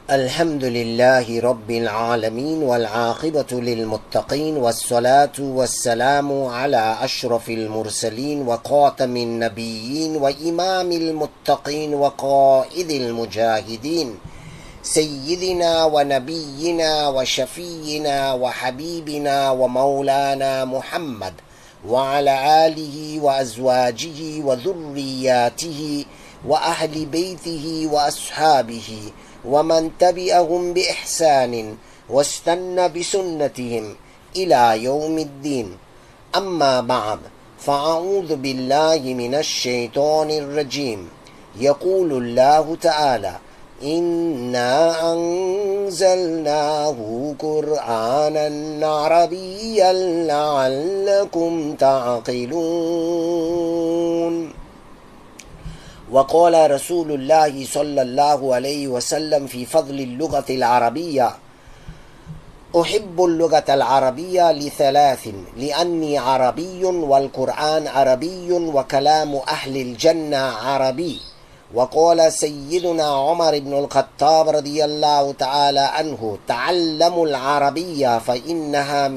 الحمد لله رب العالمين والعاقبة للمتقين والصلاة والسلام على أشرف المرسلين وخاتم النبيين وإمام المتقين وقائد المجاهدين سيدنا ونبينا وشفينا وحبيبنا ومولانا محمد وعلى آله وأزواجه وذرياته وأهل بيته وأصحابه ومن تبعهم بإحسان واستنى بسنتهم إلى يوم الدين. أما بعد، فأعوذ بالله من الشيطان الرجيم. يقول الله تعالى: إنا أنزلناه قرآنا عربيا لعلكم تعقلون. وقال رسول الله صلى الله عليه وسلم في فضل اللغة العربية: أحب اللغة العربية لثلاث: لأني عربي والقرآن عربي وكلام أهل الجنة عربي. وقال سيدنا عمر بن الخطاب رضي الله تعالى عنه: تعلموا العربية فإنها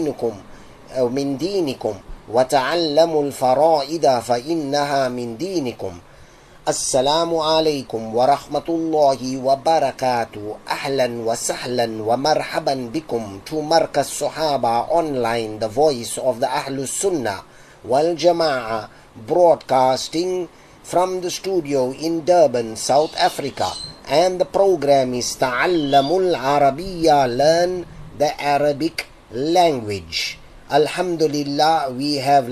من دينكم وتعلموا الفرائض فإنها من دينكم. السلام عليكم ورحمة الله وبركاته. أهلا وسهلا ومرحبا بكم to Markaz Sahaba Online, the voice of the Ahlus Sunnah wal Jama'ah, broadcasting from the studio in Durban, South Africa. And the program is Ta'allamul Arabiya, learn the Arabic language. Alhamdulillah, we have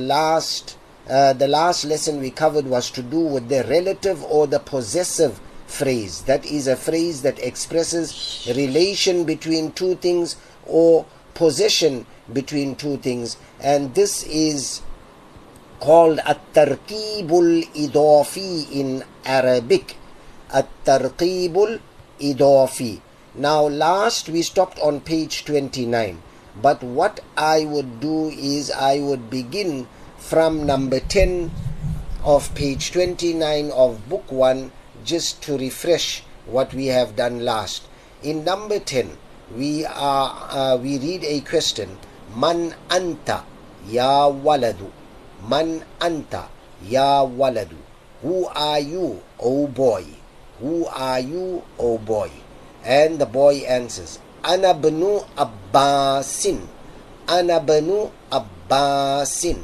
the last lesson we covered was to do with the relative or the possessive phrase. That is a phrase that expresses relation between two things or possession between two things. And this is called at-tarqibul idafi in Arabic. At-tarqibul idafi. Now last we stopped on page 29. But what I would do is I would begin from number 10 of page 29 of book 1, just to refresh what we have done last. In number 10, we read a question: Man anta ya waladu? Man anta ya waladu? Who are you, O boy? Who are you, O boy? And the boy answers: Ana banu Abbasin. Ana banu Abbasin.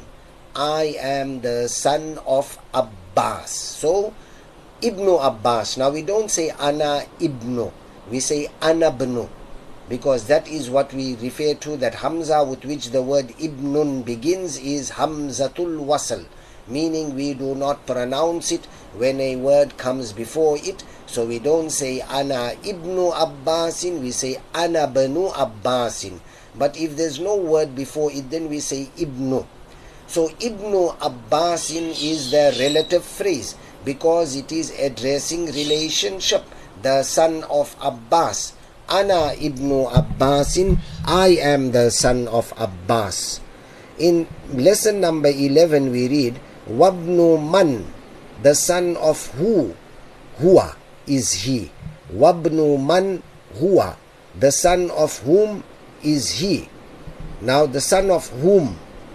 I am the son of Abbas. So, Ibnu Abbas. Now we don't say Ana Ibnu. We say Ana Bnu. Because that is what we refer to, that Hamza with which the word Ibnun begins is Hamzatul Wasl. Meaning we do not pronounce it when a word comes before it. So we don't say Ana Ibnu Abbasin. We say Ana Bnu Abbasin. But if there's no word before it, then we say Ibnu. So Ibnu Abbasin is the relative phrase because it is addressing relationship, the son of Abbas. Ana Ibnu Abbasin, I am the son of Abbas. In lesson number 11 we read: Wabnu man, the son of who? Huwa is he. Wabnu man huwa, the son of whom is he. Now the son of whom?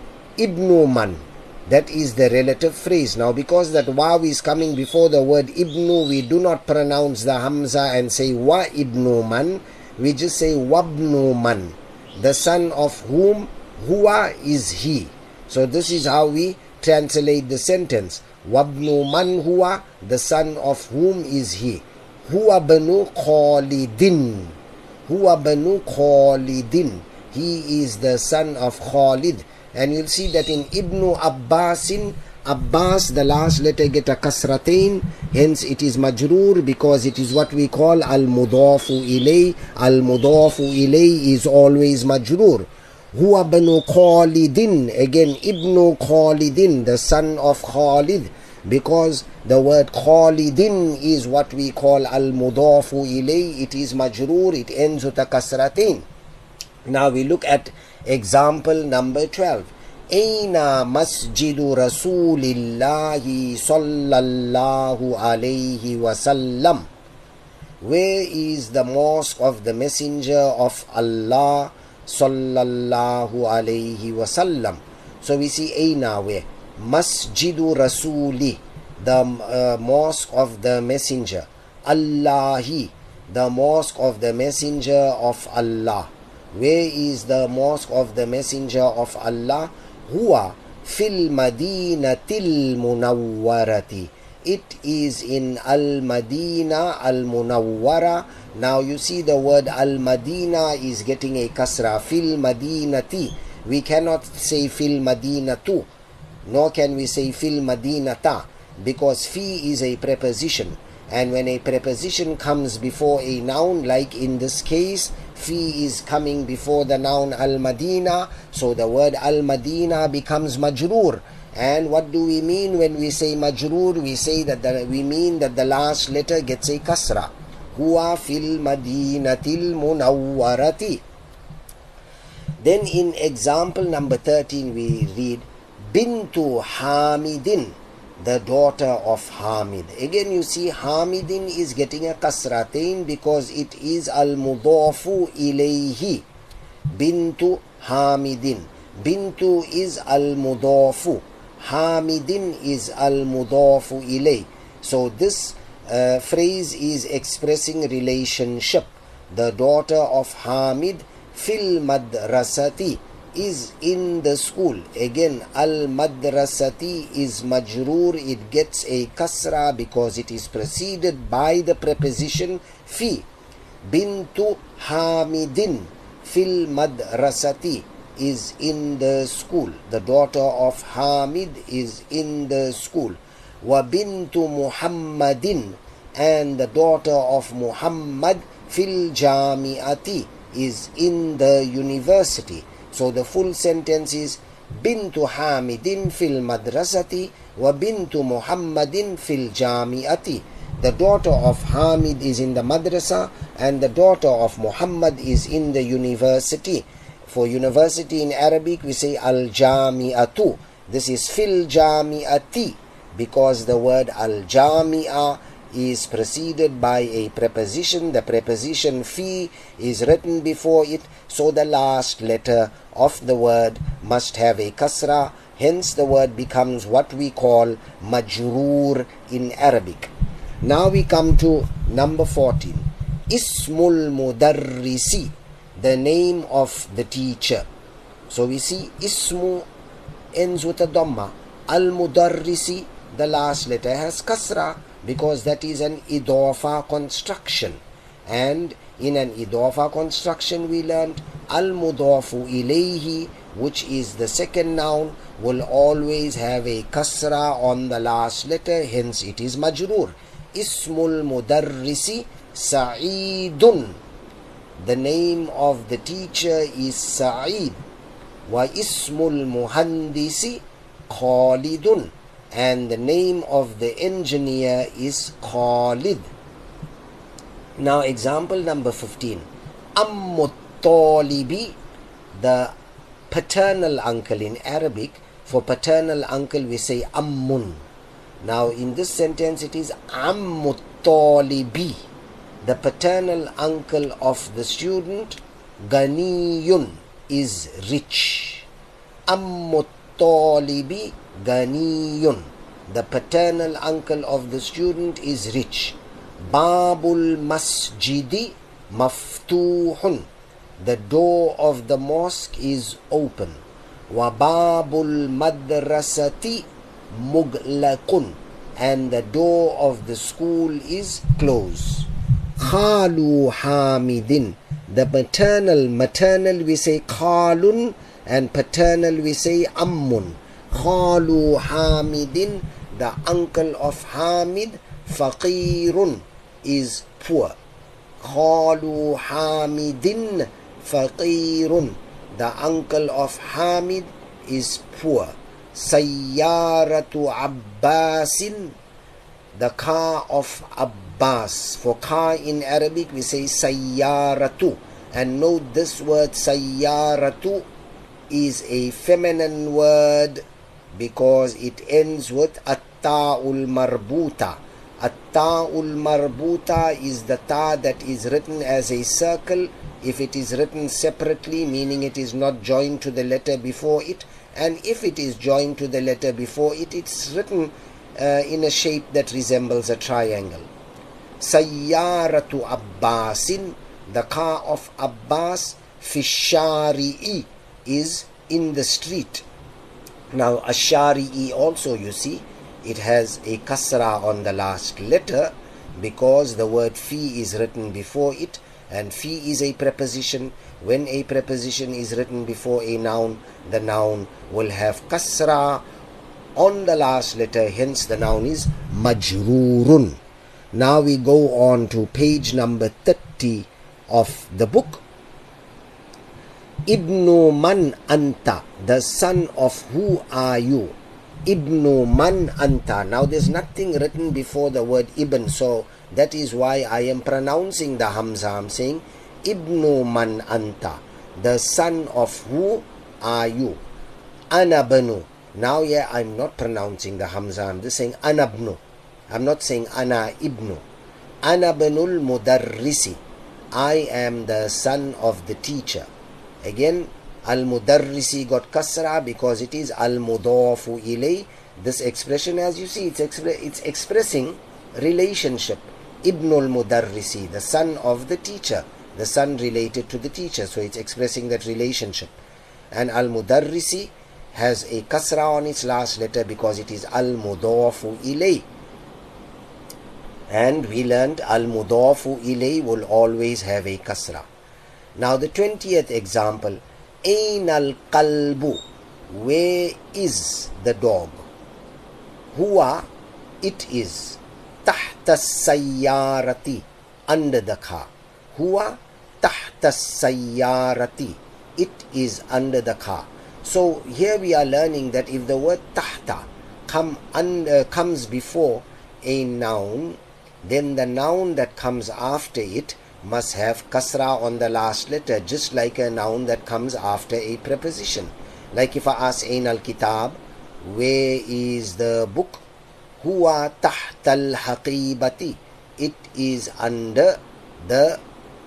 Ibnu man, that is the relative phrase. Now because that waw is coming before the word ibnu, we do not pronounce the hamza and say wa ibnu man. We just say wabnu man, the son of whom? Huwa is he. So this is how we translate the sentence. Wabnu man huwa, the son of whom is he. Huwa banu Khalidin. Huwa banu Khalidin, he is the son of Khalid. And you'll see that in Ibnu Abbasin, Abbas, the last letter get a kasratain, hence it is majroor because it is what we call al-mudafu ilay. Al-mudafu ilay is always majroor. Huwa banu Khalidin, again Ibnu Khalidin, the son of Khalid, because the word Khalidin is what we call al-mudafu ilay. It is majroor, it ends with a kasratain. Now we look at example number 12. Aina masjidu Rasulillahi sallallahu alayhi wasallam. Where is the mosque of the Messenger of Allah sallallahu alayhi wasallam? So we see Aina where? Masjidu Rasuli, the mosque of the Messenger. Allahi, the mosque of the Messenger of Allah. Where is the mosque of the Messenger of Allah? Huwa fil Madinatil Munawwarati. It is in Al-Madina Al-Munawwara. Now you see the word Al-Madina is getting a kasra. Fil Madinati. We cannot say fil Madinatu, nor can we say fil Madinata, because fi is a preposition. And when a preposition comes before a noun, like in this case, fi is coming before the noun Al-Madina, so the word Al-Madina becomes majroor. And what do we mean when we say majroor? We say that we mean that the last letter gets a kasra. Huwa fil Madinatil Munawwarati. Then in example number 13 we read Bintu Hamidin, the daughter of Hamid. Again you see Hamidin is getting a kasratain because it is al-mudafu ilayhi. Bintu Hamidin. Bintu is al-mudafu. Hamidin is al-mudafu ilay. So this phrase is expressing relationship. The daughter of Hamid fil madrasati is in the school. Again, al madrasati is majroor. It gets a kasra because it is preceded by the preposition fi. Bintu Hamidin fil madrasati is in the school. The daughter of Hamid is in the school. Wa bintu Muhammadin, and the daughter of Muhammad fil jami'ati is in the university. So the full sentence is Bintu Hamidin fil madrasati wa bintu Muhammadin fil jami'ati. The daughter of Hamid is in the madrasa and the daughter of Muhammad is in the university. For university in Arabic we say al-jami'atu. This is fil jami'ati because the word al-jami'a is preceded by a preposition. The preposition fi is written before it, so the last letter of the word must have a kasra. Hence the word becomes what we call majroor in Arabic. Now we come to number 14. Ismul mudarrisi, the name of the teacher. So we see ismu ends with a dhamma. Al-mudarrisi, the last letter has kasra, because that is an idafa construction. And in an idafa construction we learned al-mudafu ilayhi, which is the second noun, will always have a kasra on the last letter, hence it is majroor. Ismul mudarrisi Sa'idun. The name of the teacher is Sa'id. Wa ismul muhandisi Khalidun. And the name of the engineer is Khalid. Now example number 15. Ammut Talibi, the paternal uncle. In Arabic, for paternal uncle we say Ammun. Now in this sentence it is Ammut Talibi, the paternal uncle of the student. Ganiyun is rich. Ammut Talibi Ganiyun, the paternal uncle of the student is rich. Babul masjidi maftuhun, the door of the mosque is open. Wa babul madrasati muglaqun, and the door of the school is closed. Khalu Hamidin, the maternal we say Khalun, and paternal we say Ammun. Khalu Hamidin, the uncle of Hamid. Faqirun is poor. Khalu Hamidin Faqirun, the uncle of Hamid is poor. Sayyaratu Abbasin, the car of Abbas. For car in Arabic we say Sayyaratu. And note this word Sayyaratu is a feminine word because it ends with at-ta'ul marbuta. At-ta'ul marbuta is the ta that is written as a circle if it is written separately, meaning it is not joined to the letter before it, and if it is joined to the letter before it, it's written in a shape that resembles a triangle. Sayyaratu Abbasin, the car of Abbas, Fishari'i, is in the street. Now Ashari'i also, you see, it has a kasra on the last letter because the word fi is written before it, and fi is a preposition. When a preposition is written before a noun, the noun will have kasra on the last letter, hence the noun is majrurun. Now we go on to page number 30 of the book. Ibnu man anta, the son of who are you? Ibnu man anta. Now there's nothing written before the word ibn, so that is why I am pronouncing the hamza. I'm saying Ibnu man anta, the son of who are you? Ana banu. Now yeah, I'm not pronouncing the hamza, I'm just saying anabnu. I'm not saying ana ibnu. Ana banul mudarrisi, I am the son of the teacher. Again, al-mudarrisi got kasra because it is al-mudafu ilay. This expression, as you see, it's expressing relationship. Ibnul mudarrisi, the son of the teacher, the son related to the teacher, so it's expressing that relationship. And al-mudarrisi has a kasra on its last letter because it is al-mudafu ilay. And we learned al-mudafu ilay will always have a kasra. Now the 20th example, Ain al-qalbu, where is the dog? Huwa, it is. Tahta sayyarati, under the car. Huwa tahta sayyarati, it is under the car. So here we are learning that if the word tahta comes before a noun, then the noun that comes after it must have kasra on the last letter, just like a noun that comes after a preposition. Like if I ask Ain al-kitab, where is the book? Huwa tahta al-haqibati, it is under the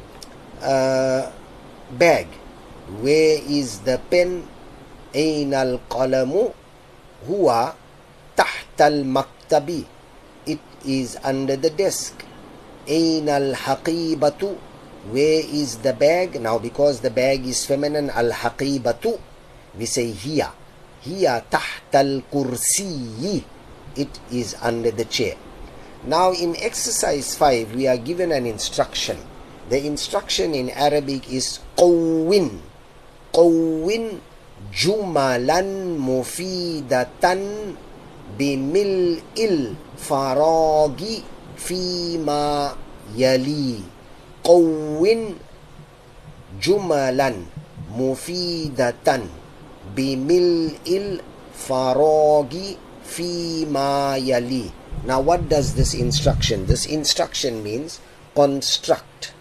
bag. Where is the pen? Ain al-qalamu? Huwa tahta al-maktabi, it is under the desk. Ain al-haqibatu, where is the bag? Now because the bag is feminine, al-haqibatu, we say hiya. Hiya tahta al-kursiyi, it is under the chair. Now in exercise 5 we are given an instruction. The instruction in Arabic is qawwin. Qawwin jumalan mufidatan bimil'il faragi fima yali. Qawwin jumalan mufidatan bimil'il faragi fima yali. Now what does this instruction? This instruction means construct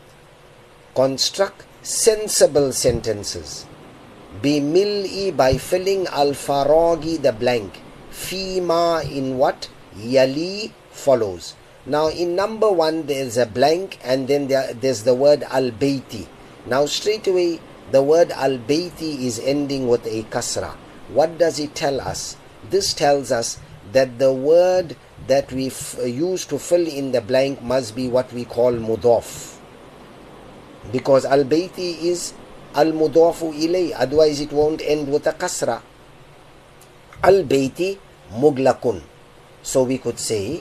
sensible sentences. Bimil'i, by filling, al-faragi, the blank. Fima, in what? Yali, follows. Now in number 1 there is a blank and then there's the word al-bayti. Now straight away the word al-bayti is ending with a kasra. What does it tell us? This tells us that the word that we use to fill in the blank must be what we call mudaf, because al-bayti is al-mudafu ilay, otherwise it won't end with a kasra. Al-bayti muglakun, so we could say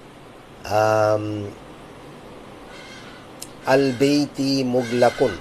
al-bayti muglakun,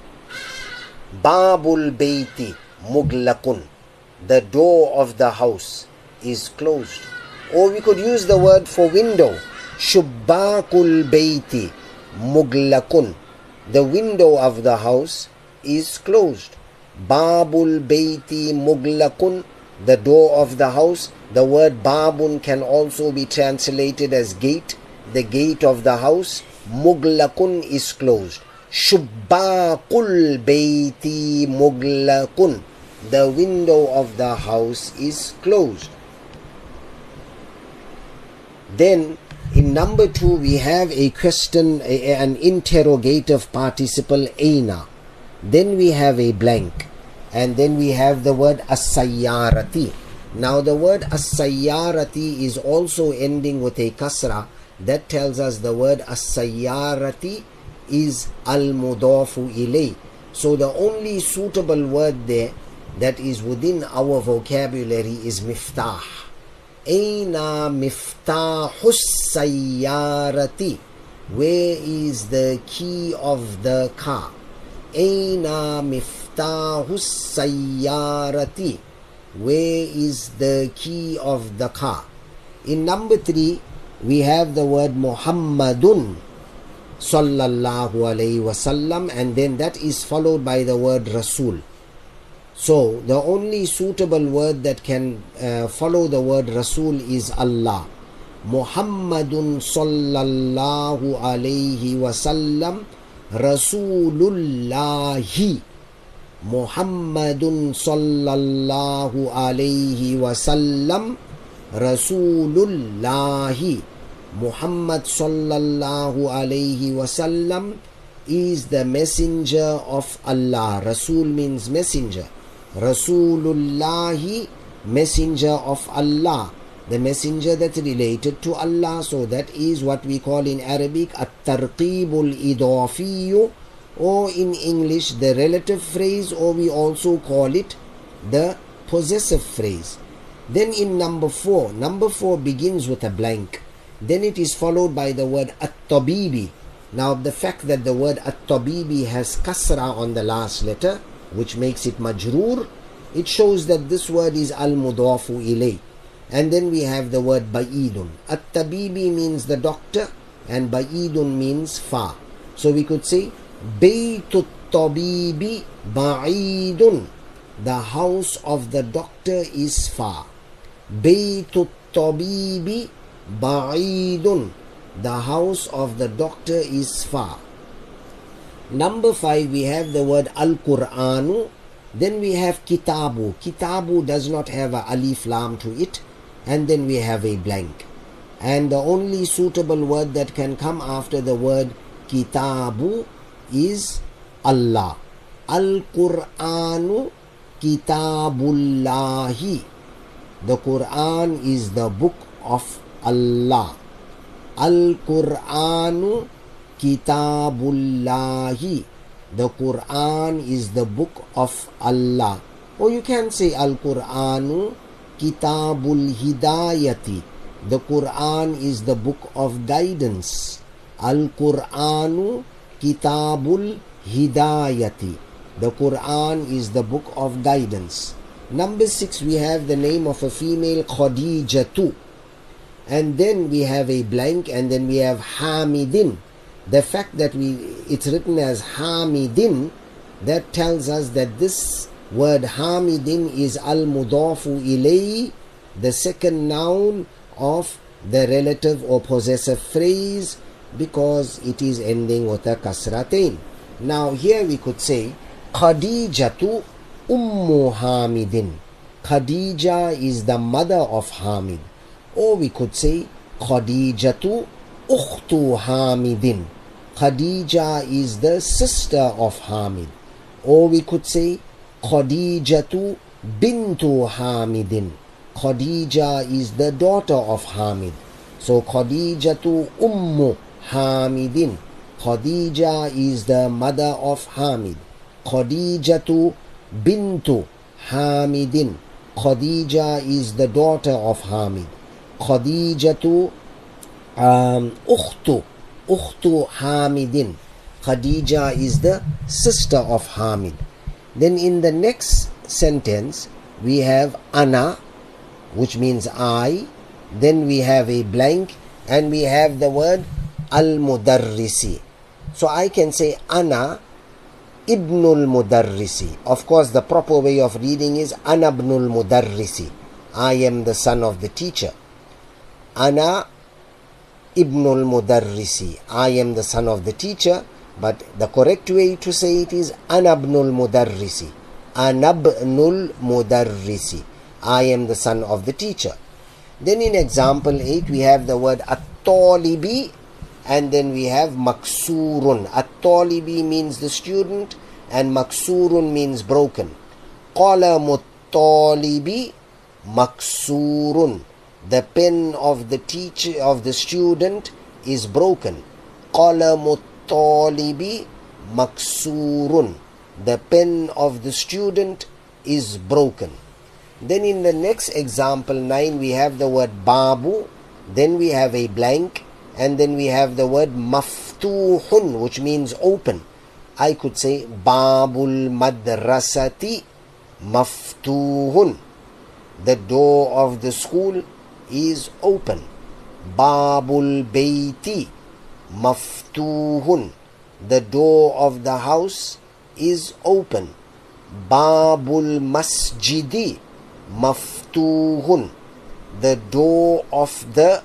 babul bayti muglakun, the door of the house is closed. Or we could use the word for window, shubbakul bayti muglakun, the window of the house is closed. Babul bayti muglakun, the door of the house. The word babun can also be translated as gate, the gate of the house. Muglakun is closed. Shubbakul bayti muglakun, the window of the house is closed. Then In number 2, we have a question, an interrogative participle, aina. Then we have a blank. And then we have the word as-sayyarati. Now the word as-sayyarati is also ending with a kasra. That tells us the word as-sayyarati is al-mudafu ilay. So the only suitable word there that is within our vocabulary is miftah. Aina miftahus sayyarati. Where is the key of the car? Aina miftahus sayyarati. Where is the key of the car? In number 3, we have the word Muhammadun sallallahu alayhi wasallam, and then that is followed by the word Rasul. So the only suitable word that can follow the word Rasul is Allah. Muhammadun sallallahu alayhi wasallam Rasulullahi. Muhammadun sallallahu alayhi wasallam Rasulullahi. Muhammad sallallahu alayhi wasallam is the messenger of Allah. Rasul means messenger. Rasulullahi, messenger of Allah, the messenger that's related to Allah. So that is what we call in Arabic at-tarqibul idafiyu, or in English the relative phrase, or we also call it the possessive phrase. Then in number 4 begins with a blank. Then it is followed by the word at-tabibi. Now the fact that the word at-tabibi has kasra on the last letter, which makes it majroor, it shows that this word is al-mudafu ilay. And then we have the word ba'idun. At-tabibi means the doctor, and ba'idun means far. So we could say baytut tabibi ba'idun. The house of the doctor is far. Baytut tabibi ba'idun. The house of the doctor is far. Number 5, we have the word al-Qur'anu. Then we have kitabu. Kitabu does not have a alif lam to it. And then we have a blank. And the only suitable word that can come after the word kitabu is Allah. Al-Qur'anu kitabullahi. The Qur'an is the book of Allah. Al-Qur'anu kitabullahi. The Quran is the book of Allah. Or you can say Al-Qur'anu kitabul hidayati. The Quran is the book of guidance. Al-Qur'anu kitabul hidayati. The Quran is the book of guidance. Number 6, we have the name of a female, Khadijatu. And then we have a blank, and then we have Hamidin. The fact that it's written as Hamidin, that tells us that this word Hamidin is al-mudafu ilay, the second noun of the relative or possessive phrase, because it is ending with a kasratain. Now here we could say Khadijatu ummu Hamidin. Khadija is the mother of Hamid. Or we could say Khadijatu ukhtu Hamidin. Khadija is the sister of Hamid. Or we could say Khadijatu bintu Hamidin. Khadija is the daughter of Hamid. So Khadijatu ummu Hamidin. Khadija is the mother of Hamid. Khadijatu bintu Hamidin. Khadija is the daughter of Hamid. Khadijatu ukhtu Hamidin. Khadija is the sister of Hamid. Then in the next sentence we have ana, which means I. Then we have a blank, and we have the word al-mudarrisi. So I can say ana ibnul mudarrisi. Of course the proper way of reading is ana ibnul mudarrisi. I am the son of the teacher. Ana ibnul mudarrisi. I am the son of the teacher. But the correct way to say it is ana ibnul mudarrisi. Ana ibnul mudarrisi. I am the son of the teacher. Then in example 8 we have the word at-talibi, and then we have maksurun. At-talibi means the student, and maksurun means broken. Qalamu at-talibi maksurun. The pen of the teacher, of the student, is broken. Qalamu at-talibi maksurun. The pen of the student is broken. Then in the next example 9 we have the word babu, then we have a blank, and then we have the word maftuhun, which means open. I could say babul madrasati maftuhun. The door of the school is open. Babul bayti maftuhun. The door of the house is open. Babul masjidi maftuhun. The door of the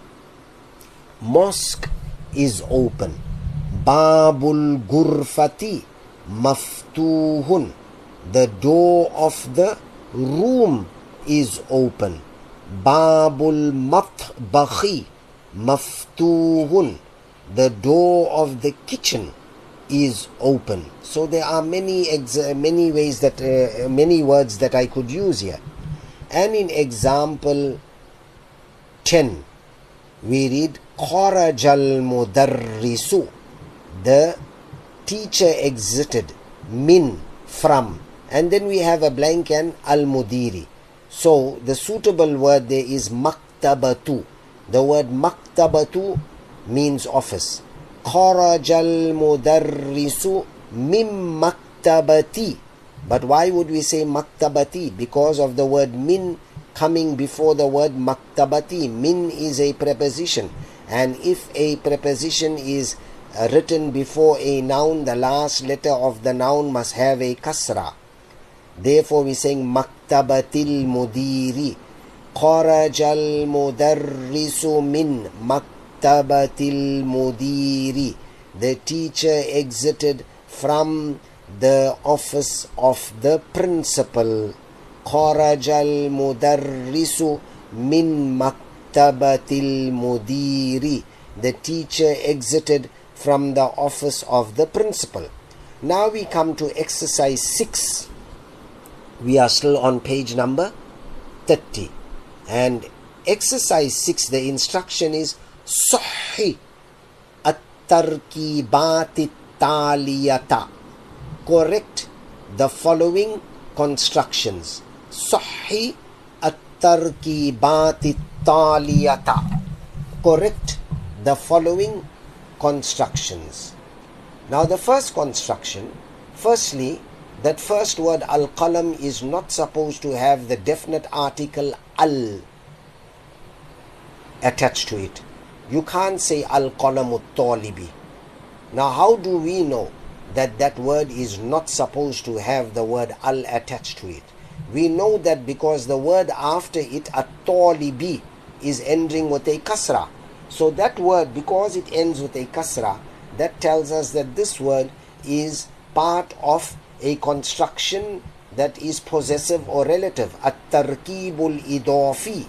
mosque is open. Babul gurfati maftuhun. The door of the room is open. Babul matbakhi maftuhun. The door of the kitchen is open. So there are many ways that many words that I could use here. And in example 10 we read kharajal mudarrisu. The teacher exited. Min, from, and then we have a blank and al-mudiri. So the suitable word there is maktabatu. The word maktabatu means office. Kharajal mudarrisu mim maktabati. But why would we say maktabati? Because of the word min coming before the word maktabati. Min is a preposition, and if a preposition is written before a noun, the last letter of the noun must have a kasra. Therefore we saying maktabatil mudiri. Kharajal mudarrisu min maktabatil mudiri. The teacher exited from the office of the principal. Kharajal mudarrisu min maktabatil mudiri. The teacher exited from the office of the principal. Now we come to exercise 6. We are still on page number 30. And exercise 6, the instruction is Sahhi at-tarkibati taliyata. Correct the following constructions. Sahhi at-tarkibati taliyata. Correct the following constructions. Now the first construction, firstly, that first word al-qalam is not supposed to have the definite article al attached to it. You can't say al-qalamu talibi. Now how do we know that that word is not supposed to have the word al attached to it? We know that because the word after it, at-talibi, is ending with a kasra. So that word, because it ends with a kasra, that tells us that this word is part of a construction that is possessive or relative. At-tarkibul idafi.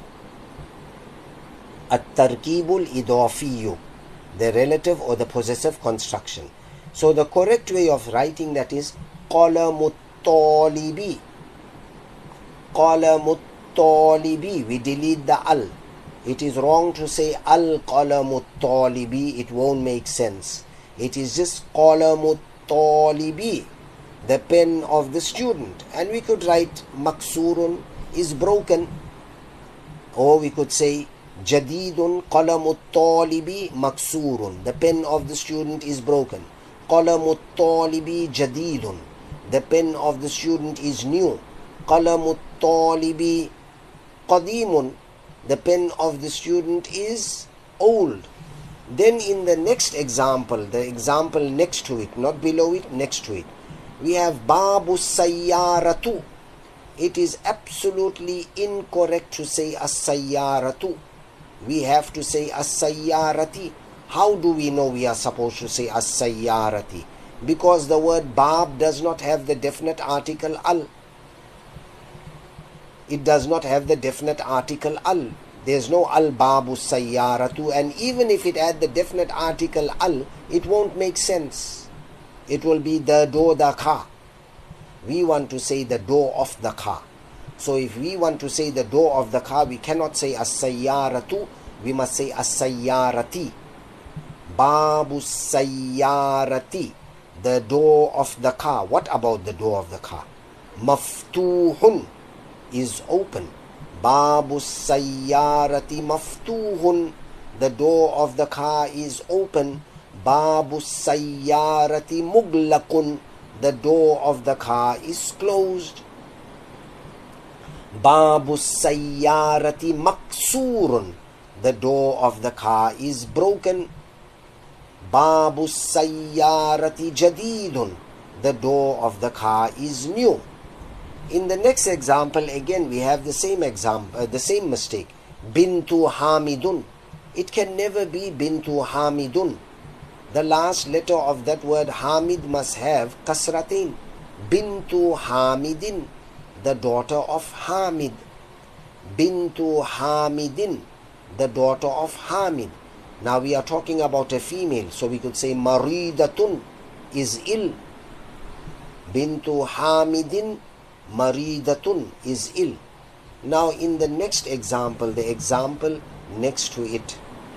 At-tarkibul idafiyu. The relative or the possessive construction. So the correct way of writing that is qalamut talibi. Qalamut talibi. We delete the al. It is wrong to say al-qalamut talibi. It won't make sense. It is just qalamut talibi, the pen of the student. And we could write maksurun is broken. Or we could say jadidun qalamut talibi maksurun. The pen of the student is broken. Qalamut talibi jadidun. The pen of the student is new. Qalamut talibi qadimun. The pen of the student is old. Then in the next example, the example next to it, not below it, next to it, we have babu sayyaratu. It is absolutely incorrect to say as-sayyaratu. We have to say as-sayyarati. How do we know we are supposed to say as-sayyarati? Because the word bab does not have the definite article al. It does not have the definite article al. There's no al-babu sayyaratu, and even if it had the definite article al, it won't make sense. It will be the door, the car. We want to say the door of the car. So if we want to say the door of the car, we cannot say as-sayyaratu, we must say as-sayyarati. Babu sayyarati, the door of the car. What about the door of the car? Maftuhun, is open. Babu sayyarati maftuhun, the door of the car is open. Babu sayyarati muglaqun, the door of the car is closed. Babu sayyarati maksurun, the door of the car is broken. Babu sayyarati jadidun, the door of the car is new. In the next example, again we have the same example, the same mistake. Bintu Hamidun. It can never be Bintu Hamidun. The last letter of that word Hamid must have kasratain. Bintu Hamidin, the daughter of Hamid. Bintu Hamidin, the daughter of Hamid. Now we are talking about a female, so we could say Maridatun, is ill. Bintu Hamidin Maridatun, is ill. Now in the next example, the example next to it,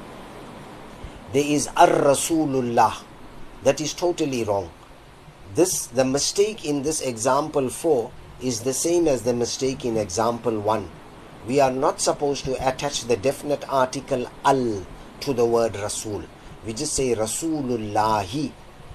there is Ar-Rasulullah. That is totally wrong. The mistake in this example 4 is the same as the mistake in example 1. We are not supposed to attach the definite article al to the word Rasul. We just say Rasulullahi.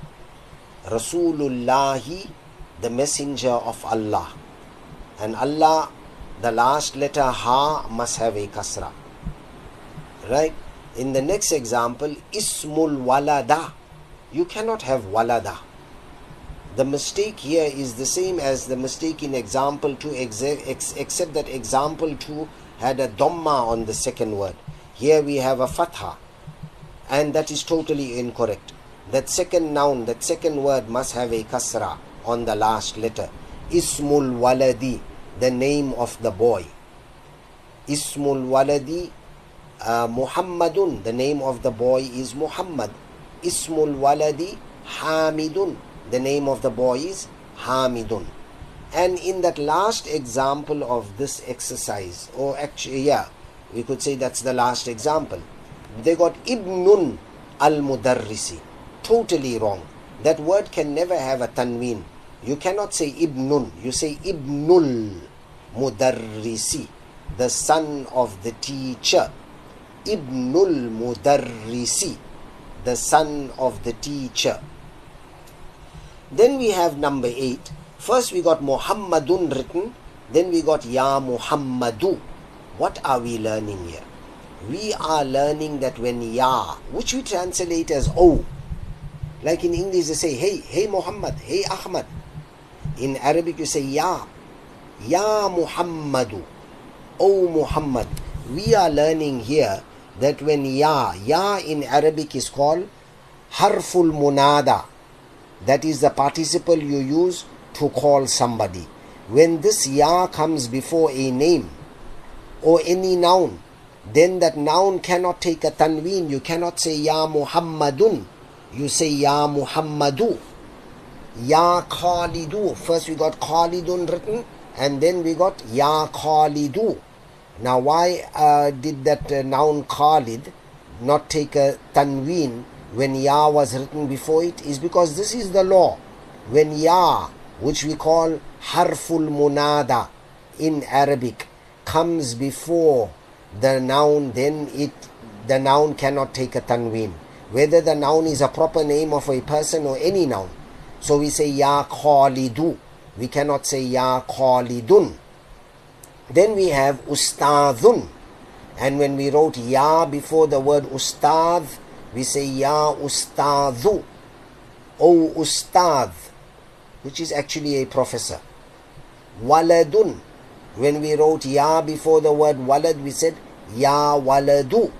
Rasulullahi, the messenger of Allah. And Allah, the last letter ha must have a kasra. Right? In the next example, Ismul Walada. You cannot have Walada. The mistake here is the same as the mistake in example 2, except that example 2 had a dhamma on the second word. Here we have a fatha, and that is totally incorrect. That second noun, that second word must have a kasra on the last letter. Ismul Waladi, the name of the boy. Ismul Waladi Muhammadun, the name of the boy is Muhammad. Ismul Waladi Hamidun, the name of the boy is Hamidun. And in that last example of this exercise, or actually, yeah, we could say that's the last example. They got Ibnun al-Mudarrisi. Totally wrong. That word can never have a tanween. You cannot say Ibnun. You say Ibnul Mudarrisi, the son of the teacher. Ibnul Mudarrisi, the son of the teacher. Then we have number 8. First we got Muhammadun written, then we got Ya Muhammadu. What are we learning here? We are learning that when Ya, which we translate as O, like in English they say, hey Muhammad, hey Ahmad. In Arabic you say Ya Muhammadu, O Muhammad. We are learning here that when Ya in Arabic is called Harful Munada. That is the participle you use to call somebody. When this Ya comes before a name or any noun, then that noun cannot take a tanween. You cannot say Ya Muhammadun. You say Ya Muhammadu. Ya Khalidu. First we got Khalidun written, and then we got Ya Khalidu. Now why did that noun Khalid not take a tanween when Ya was written before it? Is because this is the law. When Ya, which we call Harful Munada in Arabic, comes before the noun, then the noun cannot take a tanween, whether the noun is a proper name of a person or any noun. So we say Ya Khalidu. We cannot say Ya Khalidun. Then we have Ustadhun. And when we wrote Ya before the word Ustadh, we say Ya Ustadhu. O Ustadh, which is actually a professor. Waladun. When we wrote Ya before the word Walad, we said Ya Waladu.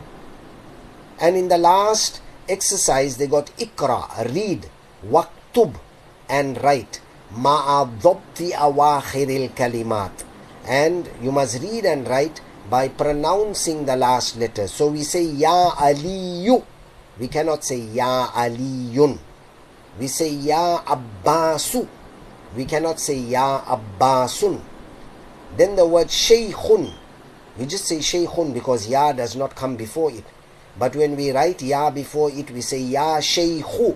And in the last exercise, they got Ikra, read, Waktub, and write. Ma'a dhabti awakhiril kalimat. And you must read and write by pronouncing the last letter. So we say Ya Aliyu. We cannot say Ya Aliyun. We say Ya Abbasu. We cannot say Ya Abbasun. Then the word Shaykhun. We just say Shaykhun because Ya does not come before it. But when we write Ya before it, we say Ya Shaykhu,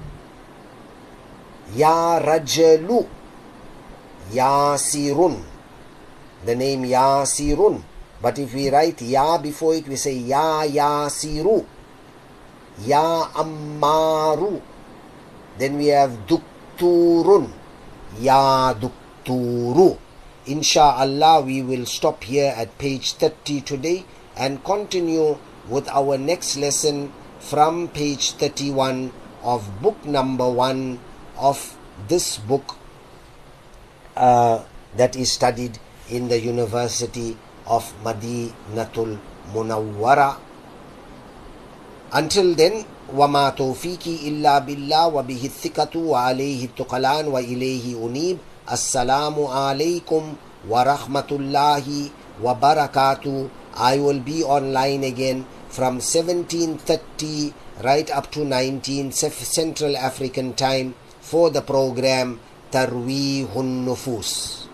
Ya Rajalu, Yasirun. The name Yasirun. But if we write Ya before it, we say Ya Yasiru, Ya Ammaru. Then we have Dukturun, Ya Dukturu. Insha'Allah, we will stop here at page 30 today and continue with our next lesson from page 31 of book number 1 of this book that is studied in the University of Madinatul Munawwara. Until then, وَمَا تَوْفِيقِي إِلَّا بِاللَّهِ وَبِهِ الثِّقَةُ وَعَلَيْهِ التُّكَلَانُ وَإِلَيْهِ أُنِيبُ. Assalamu alaikum wa rahmatullahi wa barakatuh. I will be online again from 17:30 right up to 19 Central African time for the program Tarweehun Nufus.